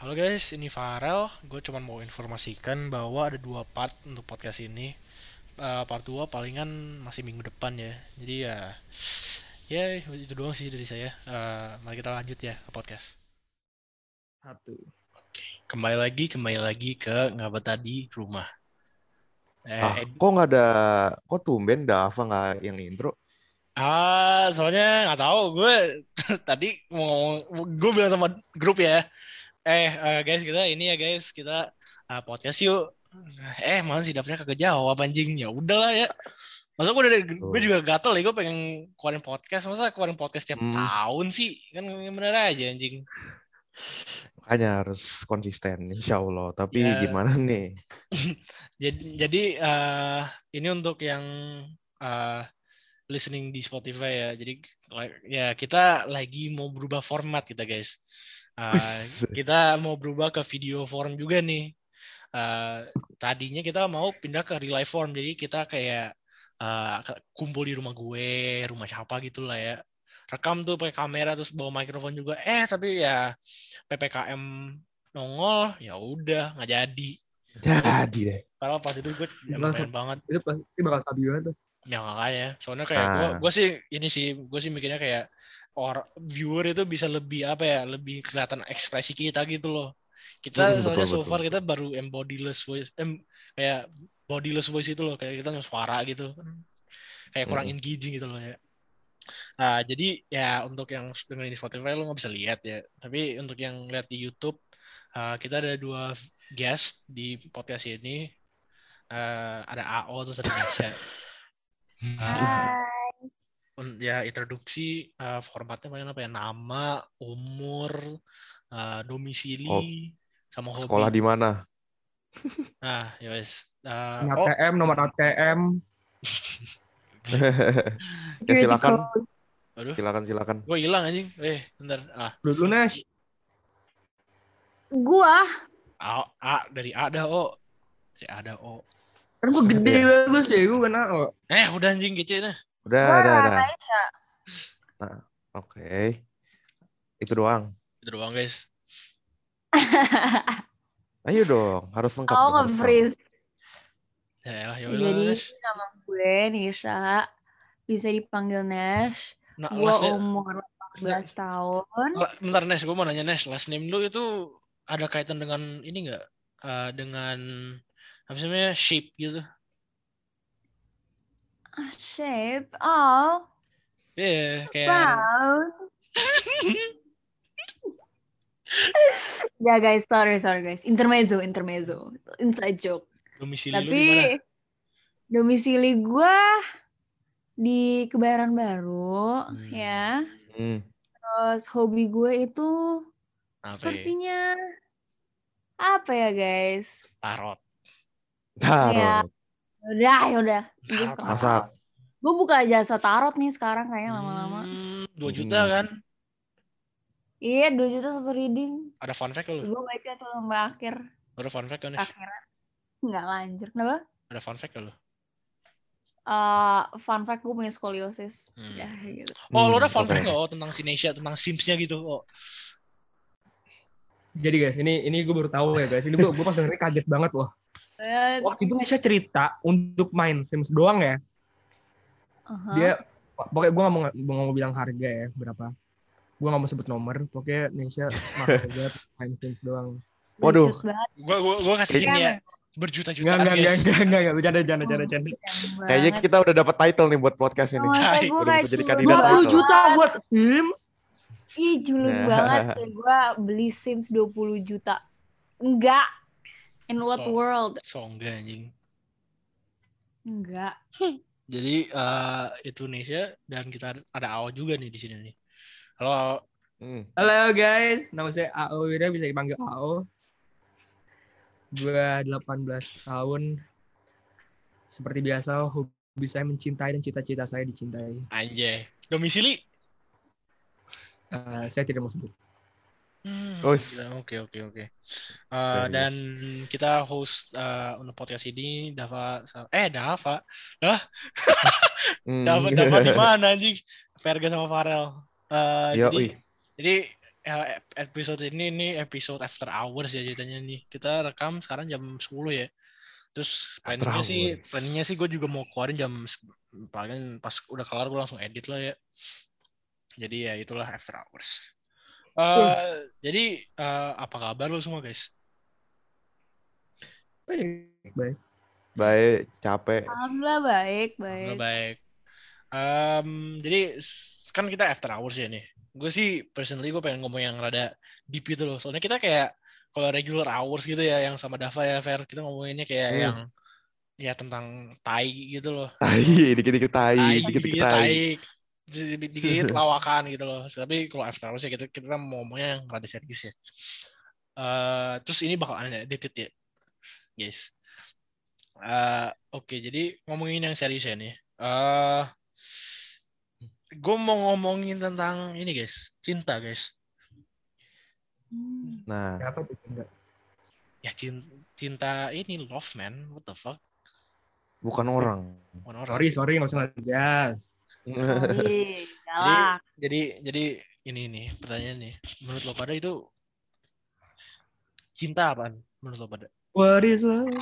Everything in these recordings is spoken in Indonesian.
Halo guys, ini Farel. Gue cuma mau informasikan bahwa ada dua part untuk podcast ini. Part 2 palingan masih minggu depan ya. Jadi ya itu doang sih dari saya. Mari kita lanjut ya ke podcast. Satu. Kembali lagi ke ngabat tadi rumah. Kok nggak ada, kok tumben Dava nggak yang intro? Soalnya nggak tahu gue tadi mau gue bilang sama grup ya. Guys kita podcast yuk. Malah sih dapetnya kagak jawab anjing. Ya udahlah ya. Masa gue juga gatel ya, gue pengen keluarin podcast. Masa keluarin podcast tiap tahun sih? Kan bener aja anjing. Makanya harus konsisten, insya Allah. Tapi Ya. gimana nih? Jadi ini untuk yang listening di Spotify ya. Jadi ya kita lagi mau berubah format kita guys. Kita mau berubah ke video form juga nih. Tadinya kita mau pindah ke real life form. Jadi kita kayak kumpul di rumah gue, rumah siapa gitu lah ya. Rekam tuh pakai kamera terus bawa mikrofon juga. Tapi ya PPKM nongol, ya udah nggak jadi. Jadi deh. Padahal pas itu gue pengen banget. Itu pasti bakal stabil banget tuh. Ya makanya. Soalnya kayak gue sih mikirnya kayak viewer itu bisa lebih lebih kelihatan ekspresi kita gitu loh. Kita soalnya so far kita baru bodiless voice, kayak bodiless voice itu loh, kayak kita suara gitu, kayak kurang engaging gitu loh ya. Nah jadi ya untuk yang dengerin di Spotify lo nggak bisa lihat ya, tapi untuk yang lihat di YouTube kita ada 2 guest di podcast ini, ada AO terus ada Nisha. Ya introduksi formatnya paling apa ya, nama, umur, domisili, sama hobi. Sekolah di mana? Nah, ya wes. ATM, nomor ATM. Ya silakan. Aduh. Silakan. Gue hilang anjing. Bentar. Dulu Nash. Gua. Dari A dah O. Dari A dah O. Kan gue gede bagus ya, gue kena O. Udah anjing kece nah. Udah. Nah, oke. Itu doang guys. Ayo dong, harus lengkap. nge-freeze. Jadi nama gue Nisha, bisa dipanggil Nash. Gue umur 14 tahun. Bentar Nash, gue mau nanya Nash, last name lu itu ada kaitan dengan ini nggak? Dengan apa namanya, shape gitu? Shape? Oh. Iya, kayak. Ya guys, sorry guys. Intermezzo. Inside joke. Domisili tapi lu di mana? Domisili gue di Kebayoran Baru ya. Terus hobi gue itu sepertinya apa ya guys? Tarot. Ya udah. Masak. Gue buka jasa tarot nih sekarang kayaknya lama-lama. 2 juta kan? Iya, 2 juta satu reading. Ada fun fact lu? Gue baca tuh sampai akhir. Ada fun fact kan? Nggak lanjut. Kenapa? Ada fun fact lu? Fun fact gue punya skoliosis. Ya, gitu. Lo ada fun fact nggak tentang Sinesia, tentang Sims-nya gitu? Jadi guys, ini gue baru tahu ya guys. Ini gue pas dengerin kaget banget loh. Waktu itu Nisha cerita untuk main Sims doang ya. Dia pokoknya gue nggak mau bilang harga ya berapa. Gue nggak mau sebut nomor. Pokoknya Nisha mahal banget main Sims doang. Waduh. Gue kasih ini ya. Berjuta-jutaan guys. Enggak, bercanda. Kayaknya kita udah dapat title nih buat podcast ini. Udah bisa jadi kandidat 20 juta buat Sims. Ih, julid banget. Gue beli Sims 20 juta. Enggak. In what world? Enggak anjing. Enggak. Jadi itu Nesha dan kita ada AO juga nih di sini nih. Halo. Halo guys, nama saya AO Wira, bisa dipanggil AO. Gue 18 tahun. Seperti biasa, hobi saya mencintai dan cita-cita saya dicintai. Anjay. Domisili? Saya tidak mau sebut. Oke. Dan kita host untuk podcast ini Dava. Dava di mana anjing? Verga sama Farel. Jadi episode ini episode after hours ya ceritanya nih. Kita rekam sekarang jam 10 ya. Terus planningnya sih gue juga mau keluarin paling pas udah kelar gue langsung edit lah ya. Jadi ya itulah after hours. Jadi apa kabar lo semua guys? Baik, capek. Alhamdulillah baik. Jadi kan kita after hours ya nih. Gue sih personally gue pengen ngomong yang rada deep gitu loh. Soalnya kita kayak kalau regular hours gitu ya yang sama Dava ya Fer, kita ngomonginnya kayak yang ya tentang tai gitu loh. Dikit-dikit tai. Dikit lawakan gitu loh. Tapi kalau after hours ya kita mau ngomongnya yang rada serius ya. Terus ini bakal edited ya, guys. Oke, jadi ngomongin yang serius ya nih. Gue mau ngomongin tentang ini guys, cinta guys. Nah, apa tuh cinta? Ya cinta ini love man, what the fuck? Bukan orang. Sorry nggak usah ngegas. Jadi ini nih pertanyaan nih. Menurut lo pada itu cinta apaan? Menurut lo pada? What is love?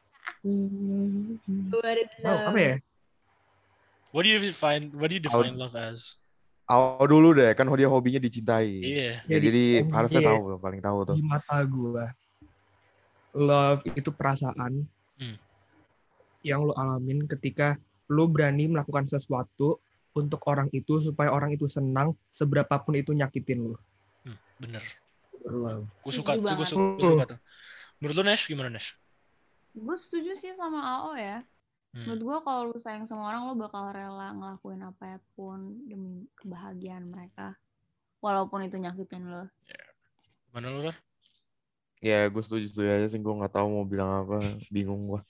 Apa ya? What do you define love as? Dulu deh, kan dia hobinya dicintai. Iya. Jadi harusnya tahu, paling tahu tuh. Di mata gue, love itu perasaan yang lo alamin ketika lo berani melakukan sesuatu untuk orang itu supaya orang itu senang, seberapapun itu nyakitin lo. Bener. Gue suka tuh. Menurut lo Nesh gimana Nesh? Gue setuju sih sama AO ya. Menurut gue kalau lu sayang sama orang, lu bakal rela ngelakuin apapun demi kebahagiaan mereka. Walaupun itu nyakitin lu. Mana lu, Rar? Ya, gue setuju aja sih. Gue gak tahu mau bilang apa. Bingung gue.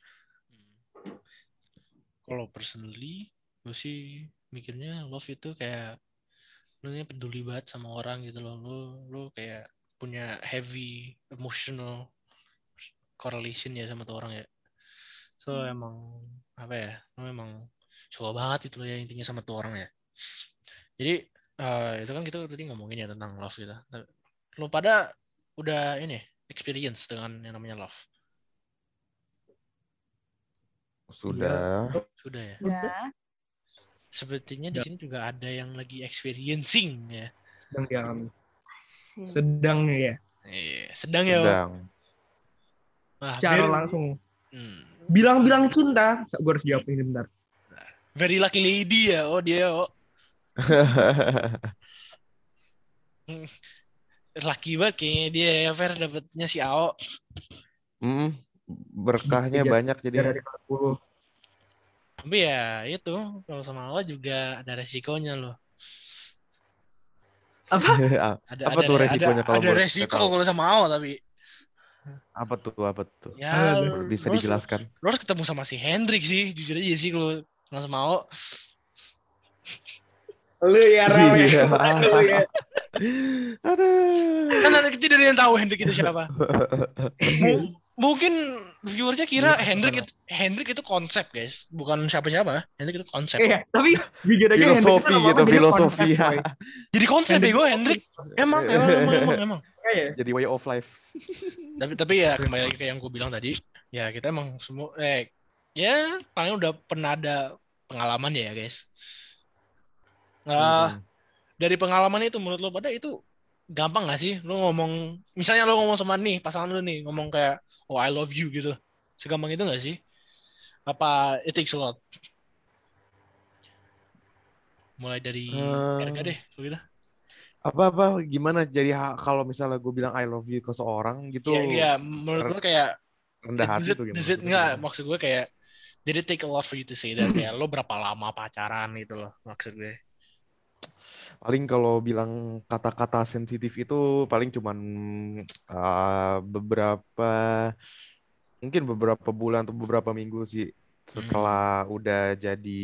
Kalau personally, gue sih mikirnya love itu kayak lu peduli banget sama orang gitu loh. Lu kayak punya heavy emotional correlation ya sama tuh orang ya. So emang apa ya, lo emang suka banget itu ya intinya sama tuh orang ya. Jadi itu kan kita tadi ngomongin ya tentang love gitu. Lo pada udah ini experience dengan yang namanya love? Sudah ya. Udah. Sepertinya di sini juga ada yang lagi experiencing ya. Sedang ya. Sedang ya. Secara langsung. Bilang-bilang cinta, gue harus jawab ini bentar. Very lucky lady ya, dia. Lucky banget kayaknya dia ya, Fer, dapetnya si Ao. Berkahnya banyak jadi. Tapi ya itu, kalau sama Ao juga ada resikonya loh. Apa tuh resikonya kalau ada resiko kalau sama Ao tapi. Apa tuh? Ya, bisa dijelaskan. Lo harus ketemu sama si Hendrik sih, jujur aja sih kalau sama Ao. Lu ya, Rawe. Aduh. Kan ada kita dari yang tahu Hendrik itu siapa. Mungkin viewersnya kira Hendrik itu konsep, guys. Bukan siapa-siapa. Hendrik itu konsep. Iya, tapi jujur aja filosofi gitu, filosofi. Jadi konsep ya gue Hendrik. Emang. Jadi way of life. Tapi ya kembali lagi ke yang gue bilang tadi. Ya kita emang semua ya paling udah pernah ada pengalaman ya, guys. Dari pengalaman itu menurut lo pada itu gampang gak sih lo ngomong, misalnya lo ngomong sama nih pasangan lo nih ngomong kayak oh I love you gitu, segampang itu gak sih? Apa it takes a lot? Mulai dari harga deh gitu. Apa gimana jadi kalau misalnya gue bilang I love you ke seorang gitu? Iya menurut lo kayak rendah hati tuh gimana? Enggak, maksud gue kayak did it take a lot for you to say that? Kayak lo berapa lama pacaran gitu loh maksud gue. Paling kalau bilang kata-kata sensitif itu paling cuman beberapa bulan atau beberapa minggu sih setelah udah jadi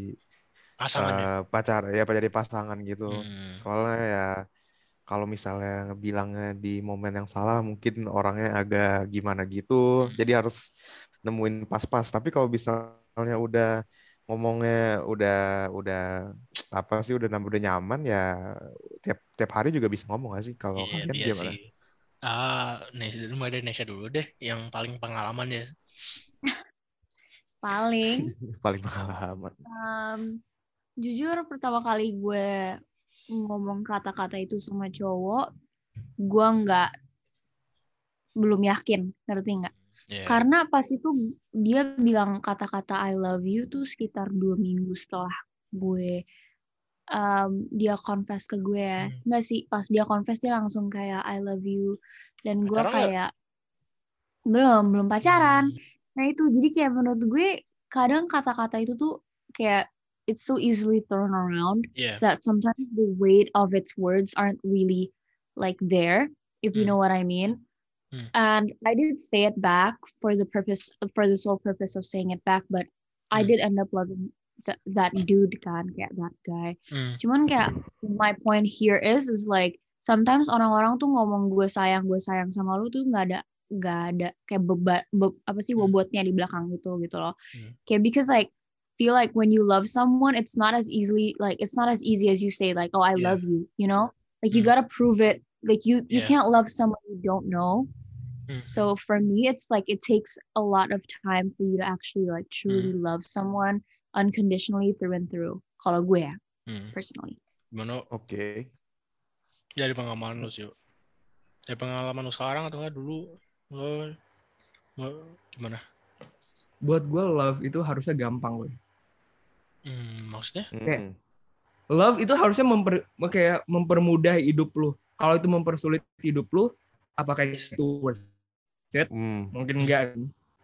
pacar ya, jadi pasangan gitu. Soalnya ya kalau misalnya bilangnya di momen yang salah mungkin orangnya agak gimana gitu, jadi harus nemuin pas-pas. Tapi kalau misalnya udah ngomongnya udah apa sih udah nyaman ya tiap hari juga bisa ngomong gak sih kalau kalian Iya gimana? sih. Mulai dari Nesha dulu deh, yang paling pengalaman ya. Paling Paling pengalaman. jujur pertama kali gue ngomong kata-kata itu sama cowok, gue belum yakin, ngerti nggak? Yeah. Karena pas itu dia bilang kata-kata I love you tuh sekitar 2 minggu setelah gue dia confess ke gue ya. Nggak sih, pas dia confess dia langsung kayak I love you. Dan gue kayak belum pacaran. Nah itu jadi kayak menurut gue kadang kata-kata itu tuh kayak it's so easily thrown around that sometimes the weight of its words aren't really like there, if you know what I mean. And I did say it back for the sole purpose of saying it back, but I did end up loving that dude kan, kayak that guy. Cuman kayak my point here is like sometimes orang-orang tuh ngomong gue sayang sama lu tuh nggak ada kayak apa sih bobotnya di belakang gitu loh. Kayak because like feel like when you love someone it's not as easy as you say like, oh I love you, you know, like you gotta prove it, like you can't love someone you don't know. So for me it's like it takes a lot of time for you to actually like truly love someone unconditionally through and through, kalau gue ya personally. Gimana? Oke. Dari pengalaman lu sih. Dari pengalaman lu sekarang atau enggak dulu? Lo gimana? Buat gue love itu harusnya gampang loh. Maksudnya? Kayak love itu harusnya mempermudah hidup lu. Kalau itu mempersulit hidup lu, apakah itu worth it? Mungkin enggak.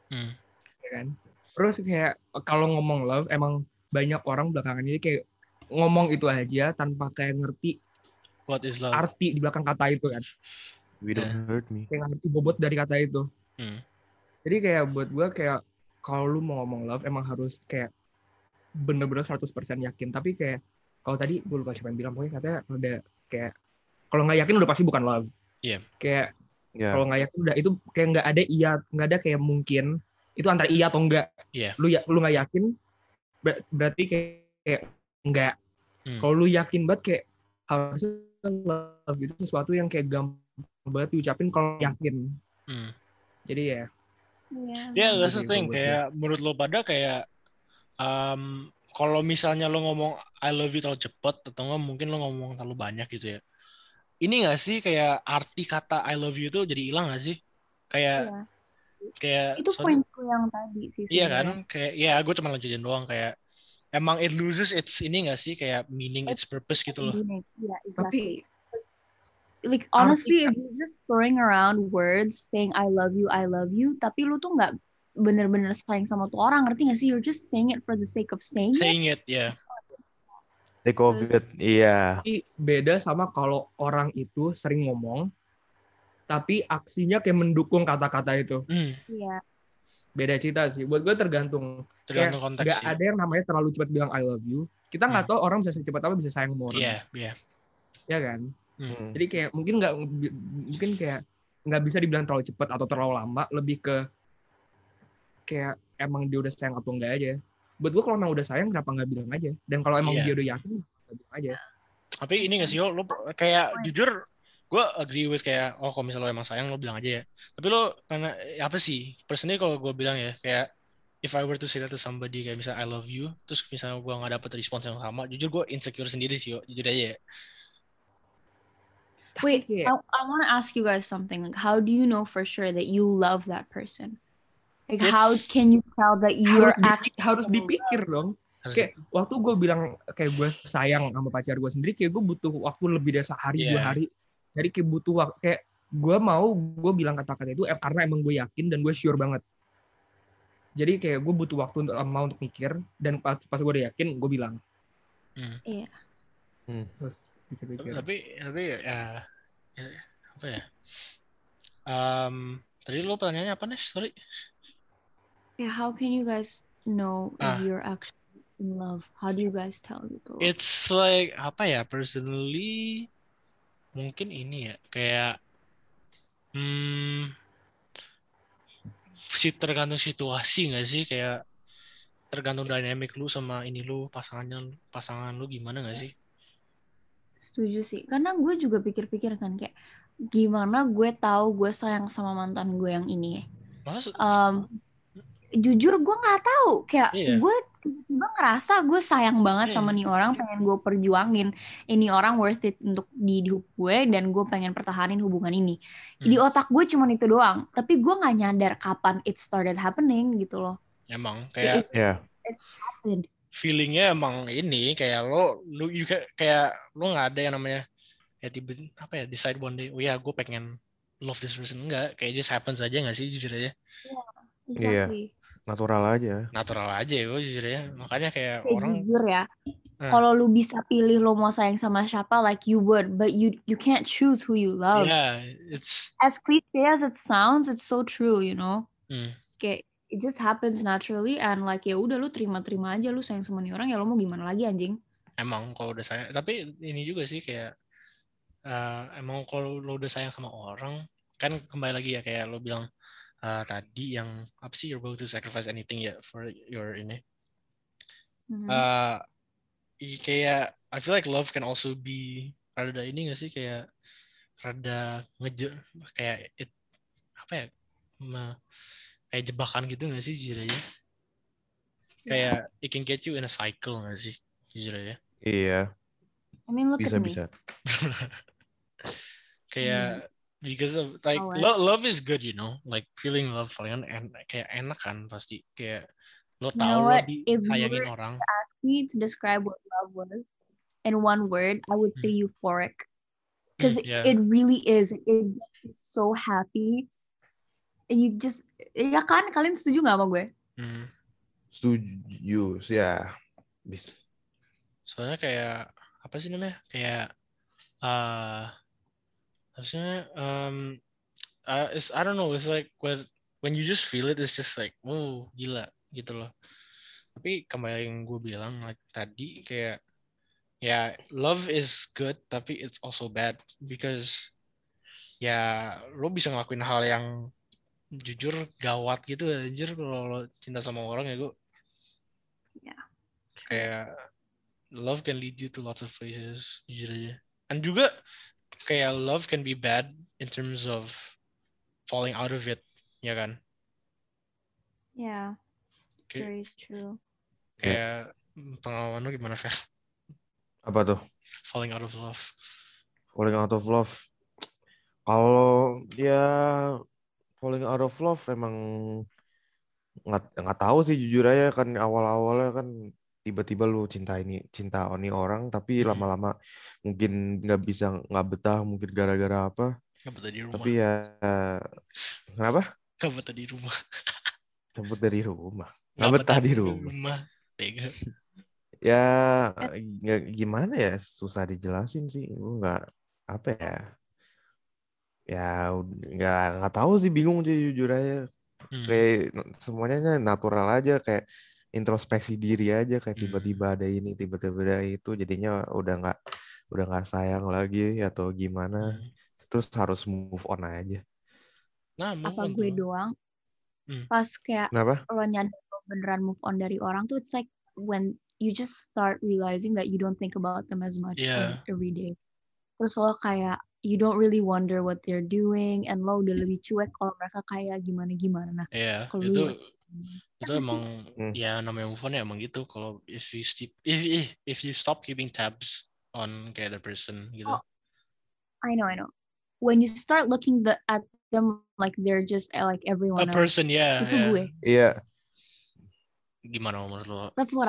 Ya kan? Terus kayak kalau ngomong love, emang banyak orang belakangan ini kayak ngomong itu aja tanpa kayak ngerti what is love, arti di belakang kata itu kan. We don't hurt me. Kayak ngerti bobot dari kata itu. Jadi kayak buat gue kayak kalau lu mau ngomong love emang harus kayak bener-bener 100% yakin. Tapi kayak kalau tadi gue lupa siapa yang bilang, pokoknya katanya udah kayak kalau nggak yakin udah pasti bukan love. Kayak kalau nggak yakin udah itu kayak nggak ada kayak mungkin itu antara iya atau enggak. Lu nggak yakin berarti kayak enggak. Kalau lu yakin banget kayak harusnya love itu sesuatu yang kayak gampang banget diucapin kalau yakin. Jadi ya. That's the thing. Kayak menurut lo pada kayak kalau misalnya lo ngomong I love you terlalu cepat atau enggak mungkin lo ngomong terlalu banyak gitu ya. Ini nggak sih kayak arti kata I love you itu jadi hilang nggak sih? Kayak itu poinku yang tadi sih. Iya kan? Kayak ya gue cuma lanjutin doang kayak emang it loses its ini nggak sih kayak meaning its purpose gitu loh. Yeah, exactly. Tapi like honestly if you're just throwing around words saying I love you tapi lu tuh nggak bener-bener sayang sama tuh orang, ngerti nggak sih? You're just saying it for the sake of saying it, yeah. Take of it, iya. Beda sama kalau orang itu sering ngomong tapi aksinya kayak mendukung kata-kata itu. Iya. Beda cerita sih. Buat gue tergantung konteks gak sih. ada yang namanya terlalu cepat bilang I love you. Kita nggak tahu orang bisa secepat apa bisa sayang sama orang. Iya. Ya kan? Jadi kayak mungkin kayak nggak bisa dibilang terlalu cepat atau terlalu lama. Lebih ke kayak emang dia udah sayang atau enggak aja. Buat gue kalau emang udah sayang kenapa nggak bilang aja. Dan kalau emang dia udah yakin bilang aja. Tapi ini nggak sih lo kayak jujur gue agree with kayak kalau misalnya lo emang sayang lo bilang aja ya. Tapi lo karena apa sih? Personally kalau gue bilang ya kayak if I were to say that to somebody kayak misalnya I love you, terus misalnya gue nggak dapet respons yang sama, jujur gue insecure sendiri sih, jujur aja ya. Wait, I want to ask you guys something. Like, how do you know for sure that you love that person? Like, how can you tell that you're harus dipikir dong. Kayak waktu gue bilang kayak gue sayang sama pacar gue sendiri, kayak gue butuh waktu lebih dari sehari 2 hari. Jadi kayak butuh waktu, kayak gue bilang kata-kata itu karena emang gue yakin dan gue sure banget. Jadi kayak gue butuh waktu untuk mikir, dan pas gue udah yakin gue bilang. Iya. Terus pikir-pikir. Tapi ya apa ya? Tadi lo pertanyaannya apa nih? Sorry. Yeah, how can you guys know if you're actually in love? How do you guys tell gitu? It's like apa ya? Personally mungkin ini ya kayak tergantung situasi nggak sih, kayak tergantung dynamic lu sama ini lu, pasangan lu gimana nggak sih? Setuju sih, karena gue juga pikir-pikir kan kayak gimana gue tahu gue sayang sama mantan gue yang ini. Jujur gue nggak tahu, kayak gue tiba-tiba ngerasa gue sayang banget sama nih orang, pengen gue perjuangin ini orang worth it untuk di hidup gue, dan gue pengen pertahanin hubungan ini. Di otak gue cuma itu doang, tapi gue nggak nyadar kapan it started happening gitu loh. Emang kayak it happened. Feelingnya emang ini kayak lo kayak lo nggak ada yang namanya ya tiba apa ya decide one day, oh ya gue pengen love this person, enggak, kayak just happens aja nggak sih jujur aja. Exactly. Natural aja ya gue jujur ya, makanya kayak orang jujur ya, kalau lu bisa pilih lo mau sayang sama siapa, like you would, but you can't choose who you love. It's as cliche as it sounds, it's so true, you know. Kayak it just happens naturally, and like ya udah lu terima aja, lu sayang sama nih orang, ya lu mau gimana lagi anjing. Emang kalau udah sayang, tapi ini juga sih kayak emang kalau lo udah sayang sama orang kan, kembali lagi ya kayak lo bilang tadi yang apa sih, you're going to sacrifice anything ya for your ini. Kayak I feel like love can also be rada ini nggak sih, kayak rada kayak apa ya, kayak jebakan gitu nggak sih jujur aja. Kayak it can get you in a cycle nggak sih jujur aja. Iya. I mean look bisa. Kayak because of like love is good, you know, like feeling love paling kayak enak kan pasti, kayak lo tahu lo disayangin orang. If you ask me to describe what love was in one word, I would say euphoric, because it really is. It gets you so happy, and you just ya kan, kalian setuju nggak sama gue? Setuju ya. Soalnya kayak apa sih namanya, kayak maksudnya I don't know, it's like when you just feel it, it's just like oh gila gitu loh. Tapi kembali yang gue bilang like tadi, kayak ya love is good tapi it's also bad, because ya lo bisa ngelakuin hal yang jujur gawat gitu anjir kalau lo cinta sama orang ya gue. Kayak love can lead you to lots of places jujur aja. And juga kayak love can be bad in terms of falling out of it, ya kan? Yeah, very true. Kayak pengalaman lo gimana, Fer? Apa tuh? Falling out of love. Kalau dia falling out of love emang nggak tahu sih jujur aja, kan awal-awalnya kan tiba-tiba lu cinta ini orang, tapi lama-lama mungkin nggak betah, mungkin gara-gara apa. Nggak betah di rumah. Tapi ya kenapa? Nggak betah di rumah. Cabut dari rumah. Nggak betah di rumah. Ya gimana ya, susah dijelasin sih. Nggak apa ya. Ya nggak tahu sih, bingung sih jujur aja. Kayak semuanya natural aja, kayak introspeksi diri aja, kayak tiba-tiba ada ini, tiba-tiba ada itu, jadinya udah nggak sayang lagi atau gimana. Terus harus move on aja. Nah, apa gue doang? Pas kayak lo nyadar beneran move on dari orang tuh, it's like when you just start realizing that you don't think about them as much every day. Terus lo kayak you don't really wonder what they're doing, and lo udah lebih cuek kalau mereka kayak gimana. Nah, itu emang ya namanya move on ya emang gitu. Kalau if you stop keeping tabs on kayak the person gitu. Oh, I know. When you start looking at them like they're just like everyone else. A person, itu gue. Iya. Gimana menurut lo? That's what.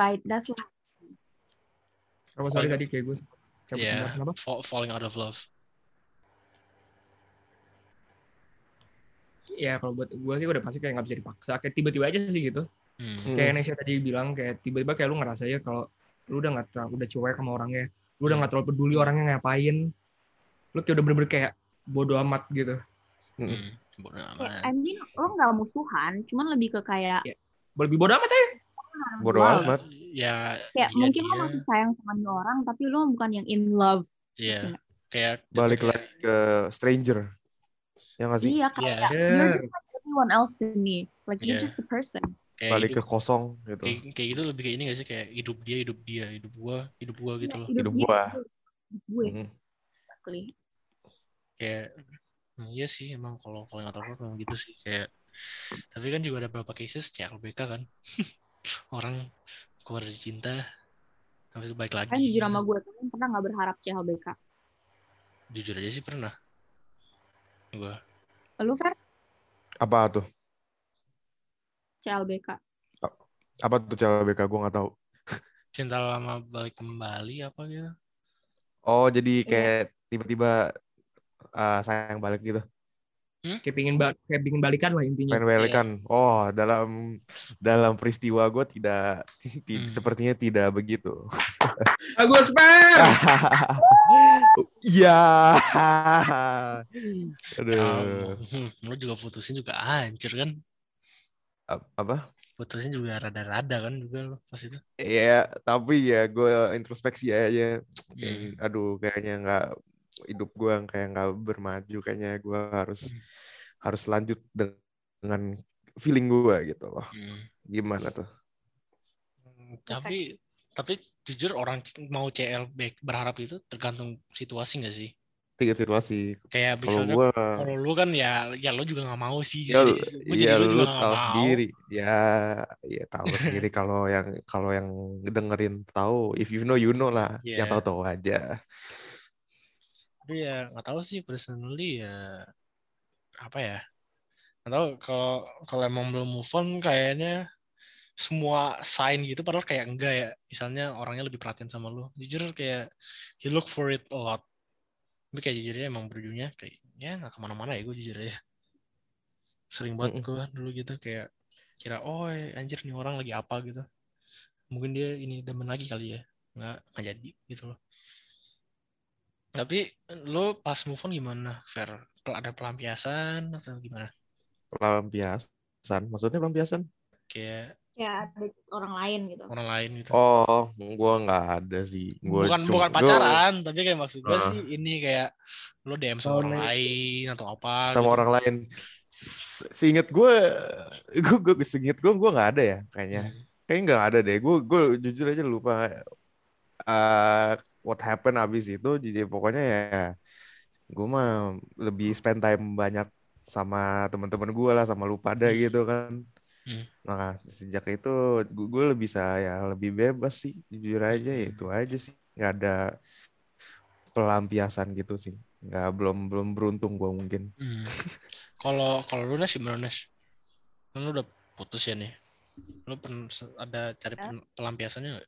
Sorry tadi kayak gue. Falling out of love. Ya kalau buat gue sih udah pasti kayak nggak bisa dipaksa, kayak tiba-tiba aja sih gitu. Kayak Nesha tadi bilang, kayak tiba-tiba kayak lu ngerasa ya kalau lu udah cuek sama orangnya, lu udah nggak terlalu peduli orangnya ngapain, lu kayak udah bener-bener kayak bodo amat gitu. Bodo amat. I mean lo nggak musuhan, cuman lebih ke kayak lebih bodo amat ya. Bodo amat. Ya. Mungkin lo masih sayang sama orang, tapi lo bukan yang in love. Iya. Kayak balik lagi ke stranger. Ya nggak sih? Iya, kayak you're just like everyone else to me. Like you're just the person. balik ke kosong gitu. Kayak gitu lebih kayak ini gak sih, kayak hidup dia, hidup gua gitu loh. Hidup gua. Kayak iya sih emang kalau nggak tahu memang gitu sih kayak. Tapi kan juga ada beberapa cases CLBK kan. Orang keluar dari cinta habis itu balik lagi. Kan jujur sama gue tuh pernah nggak berharap CLBK? Jujur aja sih pernah. Gue. Lu Fer? Apa tuh? CLBK. Apa tuh CLBK? Gue nggak tahu. Cinta lama balik kembali apa gitu? Oh jadi kayak tiba-tiba sayang balik gitu. Kayak pingin balikan lah intinya. Pengen balikan. Oh, dalam peristiwa gue tidak sepertinya tidak begitu. Bagus, Fer. Iya. Aduh. Lu juga putusin juga hancur kan? Apa? Putusin juga rada-rada kan juga lo pas itu. Iya, tapi ya gue introspeksi aja. Aduh, kayaknya nggak, hidup gue kayak nggak bermaju. Kayaknya gue harus lanjut dengan feeling gue gitu loh. Gimana tuh? Tapi jujur orang mau CLBK berharap itu tergantung situasi nggak sih? Tiga situasi. Kayak misalnya kalau lu kan ya lu juga nggak mau sih. Ya lu tahu sendiri. Ya tahu sendiri kalau yang dengerin tahu. If you know lah. Yeah. Yang tahu aja. Tapi ya nggak tahu sih personally ya apa ya. Nggak tahu kalau emang belum move on kayaknya semua sign gitu padahal kayak enggak ya. Misalnya orangnya lebih perhatian sama lu. Jujur kayak you look for it a lot. Tapi kayak jujurnya emang berujungnya kayak ya nggak kemana-mana ya gue jujur aja. Sering banget gue dulu gitu kayak kira anjir nih orang lagi apa gitu. Mungkin dia ini demen lagi kali ya. Nggak jadi gitu loh. Tapi lo pas move on gimana, Fer? Ada pelampiasan atau gimana? Pelampiasan? Maksudnya pelampiasan? Kayak ada orang lain gitu. Orang lain gitu. Oh, gue nggak ada sih. Bukan pacaran, tapi kayak maksud gue sih ini kayak lo DM sama orang lain atau apa? Sama gitu. Orang lain. Seinget gue nggak ada ya kayaknya. Kayaknya nggak ada deh. Gue jujur aja lupa what happened abis itu. Jadi pokoknya ya gue mah lebih spend time banyak sama teman-teman gue lah, sama lu pada gitu kan. Nah sejak itu gue lebih bebas sih, jujur aja. Itu aja sih, nggak ada pelampiasan gitu sih. Belum beruntung gue mungkin. Kalau lu Nes gimana Nes? Lu udah putus ya nih? Lu ada cari pelampiasannya nggak?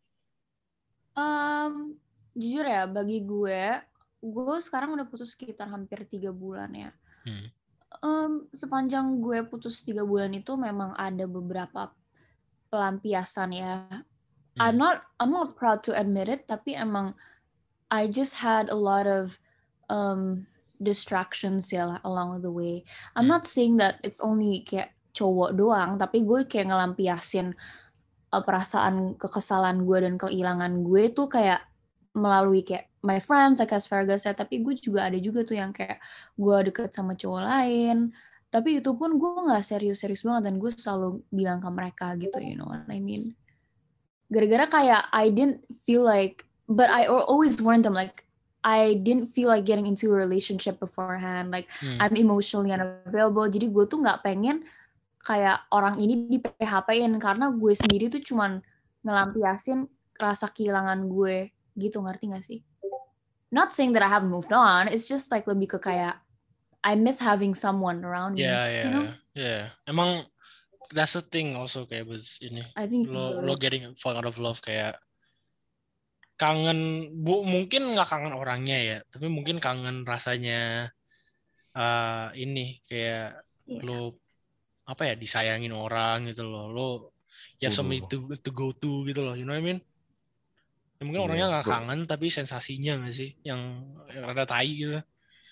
Jujur ya, bagi gue sekarang udah putus sekitar hampir 3 bulan ya. Sepanjang gue putus 3 bulan itu memang ada beberapa pelampiasan ya. I'm not proud to admit it, tapi emang I just had a lot of distractions ya along the way. I'm not saying that it's only kayak cowok doang, tapi gue kayak ngelampiasin perasaan kekesalan gue dan kehilangan gue tuh kayak melalui kayak my friends, like as Fergus said, tapi gue juga ada juga tuh yang kayak gue deket sama cowok lain, tapi itu pun gue nggak serius-serius banget dan gue selalu bilang ke mereka gitu, you know what I mean? Gara-gara kayak I didn't feel like, but I always warned them like I didn't feel like getting into a relationship beforehand, like I'm emotionally unavailable, jadi gue tuh nggak pengen kayak orang ini di PHP-in karena gue sendiri tuh cuman ngelampiasin rasa kehilangan gue gitu, ngerti gak sih? Not saying that I haven't moved on, it's just like lebih ke kayak I miss having someone around me. You know? Yeah. Emang that's the thing also kayak ini. I think lo getting fall out of love kayak kangen, mungkin nggak kangen orangnya ya, tapi mungkin kangen rasanya ini kayak lo apa ya disayangin orang gitu loh, lo ya somebody to go to gitu loh, you know what I mean? Ya, mungkin orangnya nggak kangen tapi sensasinya nggak sih yang rada tai gitu.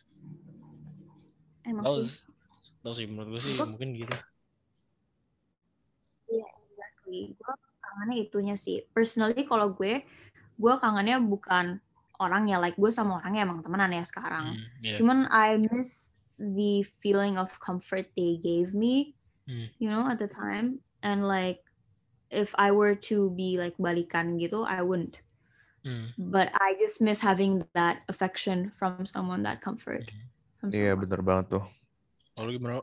Emang tahu sih menurut gue sih mungkin gitu. Iya, exactly. Gue kangennya itunya sih. Personally kalau gue kangennya bukan orangnya, like gue sama orangnya emang temenan ya sekarang. Cuman I miss the feeling of comfort they gave me, you know, at the time. and like if I were to be like balikan gitu, I wouldn't. But I just miss having that affection from someone, that comfort from someone. Iya, bener banget tuh. Lalu gimana?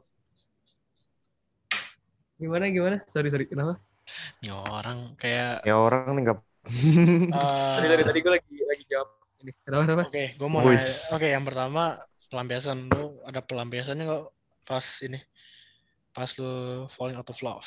Gimana? Sorry, kenapa? Ya orang kayak... Ya orang nih nggak... Sorry, tadi gue lagi jawab ini. Kenapa? Oke, gue mau nanya. Oke, yang pertama pelampiasan. Lu ada pelampiasannya nggak pas lu falling out of love?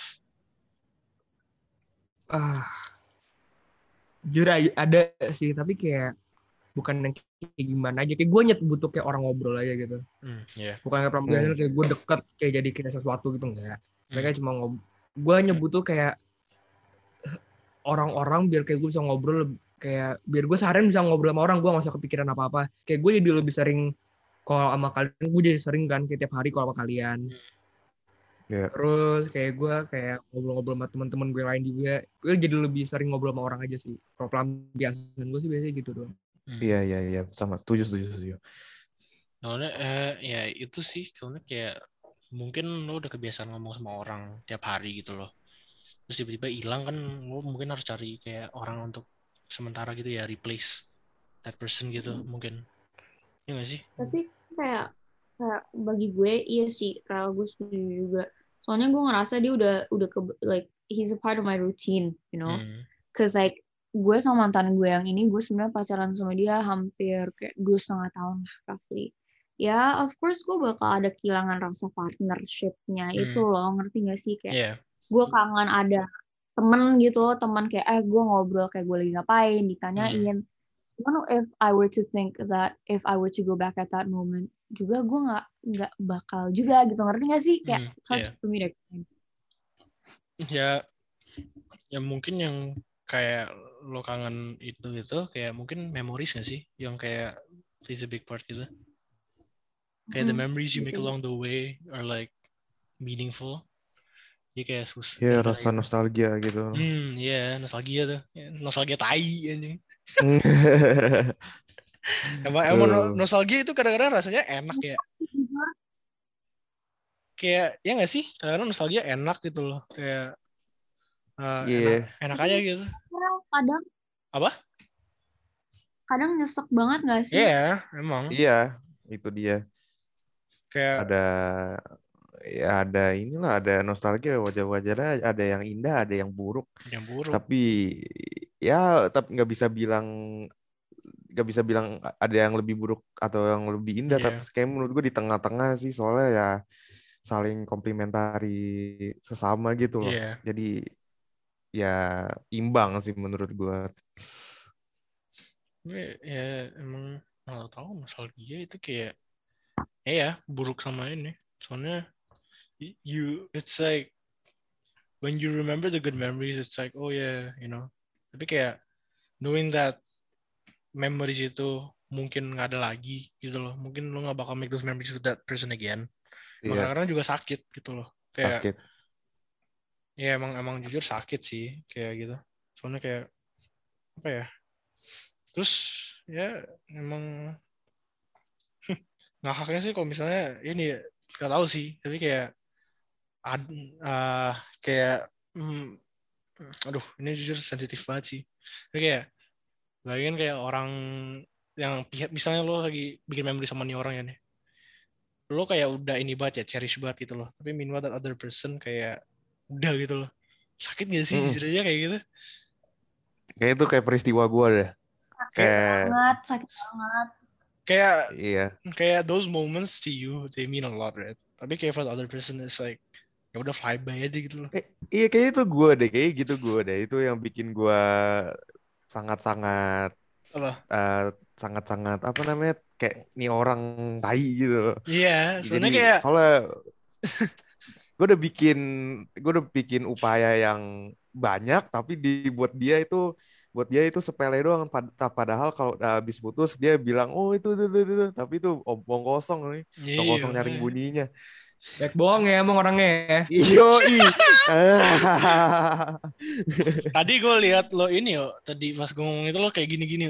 Jujur ada sih, tapi kayak bukan yang kayak gimana aja. Kayak gue butuh kayak orang ngobrol aja gitu. Bukan kayak pelampiasan kayak gue deket kayak jadi kayak sesuatu gitu, enggak. Mereka cuma gue hanya butuh kayak orang-orang biar kayak gue bisa ngobrol, kayak biar gue seharian bisa ngobrol sama orang, gue gak usah kepikiran apa-apa. Kayak gue jadi lebih sering kalau sama kalian, gue jadi sering kan kayak tiap hari kalau sama kalian. Terus kayak gue kayak ngobrol-ngobrol sama teman-teman gue lain juga, gue jadi lebih sering ngobrol sama orang aja sih. Kalau pelampiasan gue sih biasanya gitu doang. Iya, sama, setuju. Soalnya ya itu sih, soalnya kayak mungkin lo udah kebiasaan ngomong sama orang tiap hari gitu loh, terus tiba-tiba hilang kan, lo mungkin harus cari kayak orang untuk sementara gitu ya, replace that person gitu mungkin. Iya nggak sih? Tapi kayak bagi gue iya sih, Rel, gue setuju juga. Soalnya gue ngerasa dia udah like he's a part of my routine, you know. Cause like gue sama mantan gue yang ini, gue sebenarnya pacaran sama dia hampir kayak 2,5 tahun lah roughly. Ya, of course gue bakal ada kehilangan rasa partnership-nya itu loh, ngerti gak sih? Kayak gue kangen ada temen gitu, teman kayak gue ngobrol kayak gue lagi ngapain, ditanyain. Cuman if I were to think that if I were to go back at that moment, juga gue nggak bakal juga gitu, ngerti gak sih? Kayak it's hard for me to explain. Ya mungkin yang kayak lo kangen itu kayak mungkin memories gak sih, yang kayak plays a big part gitu. Kayak the memories you make along the way are like meaningful. Dia kayak susah. Ya rasa nostalgia gitu. Nostalgia tuh. Nostalgia tai anjing. Emang nostalgia itu kadang-kadang rasanya enak ya. Kayak ya nggak sih? Kadang-kadang nostalgia enak gitu loh. Kayak enak aja gitu. Kadang. Apa? Kadang nyesek banget nggak sih? Iya, emang. Iya, itu dia. Kayak ada nostalgia, wajar-wajar, ada yang indah, ada yang buruk. Tapi nggak bisa bilang ada yang lebih buruk atau yang lebih indah. Tapi kayak menurut gue di tengah-tengah sih, soalnya ya saling komplementari sesama gitu loh. Jadi ya imbang sih menurut gue. Ya emang nggak tahu, nostalgia itu kayak buruk sama ini. Soalnya it's like when you remember the good memories, it's like oh yeah, you know. Tapi kayak knowing that memories itu mungkin nggak ada lagi gitu loh, mungkin lo nggak bakal make those memories with that person again. Kadang-kadang juga sakit gitu loh, kayak sakit. Ya emang jujur sakit sih kayak gitu. Soalnya kayak apa ya, terus ya emang ngakaknya sih kalau misalnya ini nggak tahu sih, tapi kayak aduh ini jujur sensitif banget sih. Tapi kayak bayangin kayak orang yang misalnya lo lagi bikin memory sama nih orang ya nih, lo kayak udah ini banget ya, cherish banget gitu loh, tapi meanwhile that other person kayak udah gitu loh. Sakit gak sih jujur aja kayak gitu? Kayak itu kayak peristiwa gue deh. Sakit banget. Kayak those moments to you they mean a lot, right? Tapi kayak for the other person it's like ya udah fly by aja gitu loh. Iya kayak itu gue deh, itu yang bikin gue sangat-sangat apa namanya, kayak nih orang tai gitu. Iya, soalnya gue udah bikin upaya yang banyak, tapi buat dia itu sepele doang. Padahal kalau udah habis putus dia bilang oh itu, tapi itu omong kosong nih, omong kosong nyaring bunyinya. Baik bohong ya emang orangnya ya. Iyo. Tadi gue lihat lo ini tadi pas gue ngomong itu lo kayak gini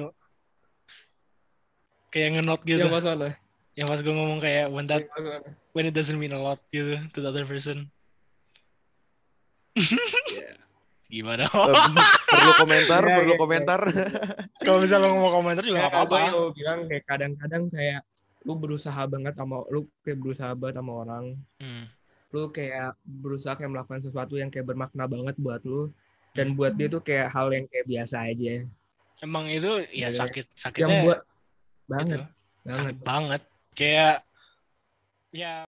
kayak ngenot gitu. Yang pas gue ngomong kayak when it doesn't mean a lot gitu to the other person. Gimana? Perlu komentar. Kalau misalnya lo ngomong komentar juga nggak apa-apa. Gue bilang kayak kadang-kadang kayak lu berusaha banget sama orang. Lu kayak berusaha kayak melakukan sesuatu yang kayak bermakna banget buat lu, dan buat dia tuh kayak hal yang kayak biasa aja. Emang itu ya sakitnya yang buat banget. Sakit banget. Kayak ya